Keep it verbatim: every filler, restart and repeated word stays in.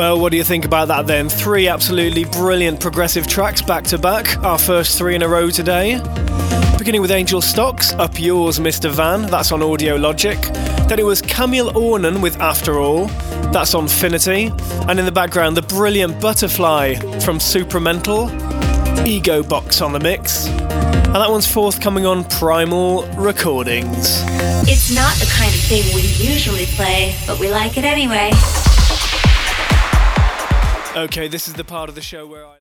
Well, what do you think about that then? Three absolutely brilliant progressive tracks back to back, our first three in a row today. Beginning with Angel Stocks, Up Yours Mister Van, that's on Audio Logic. Then it was Camille Ornan with After All, that's on Finity. And in the background, the brilliant Butterfly from Supramental, Ego Box on the mix. And that one's forthcoming on Primal Recordings. It's not the kind of thing we usually play, but we like it anyway. Okay, this is the part of the show where I...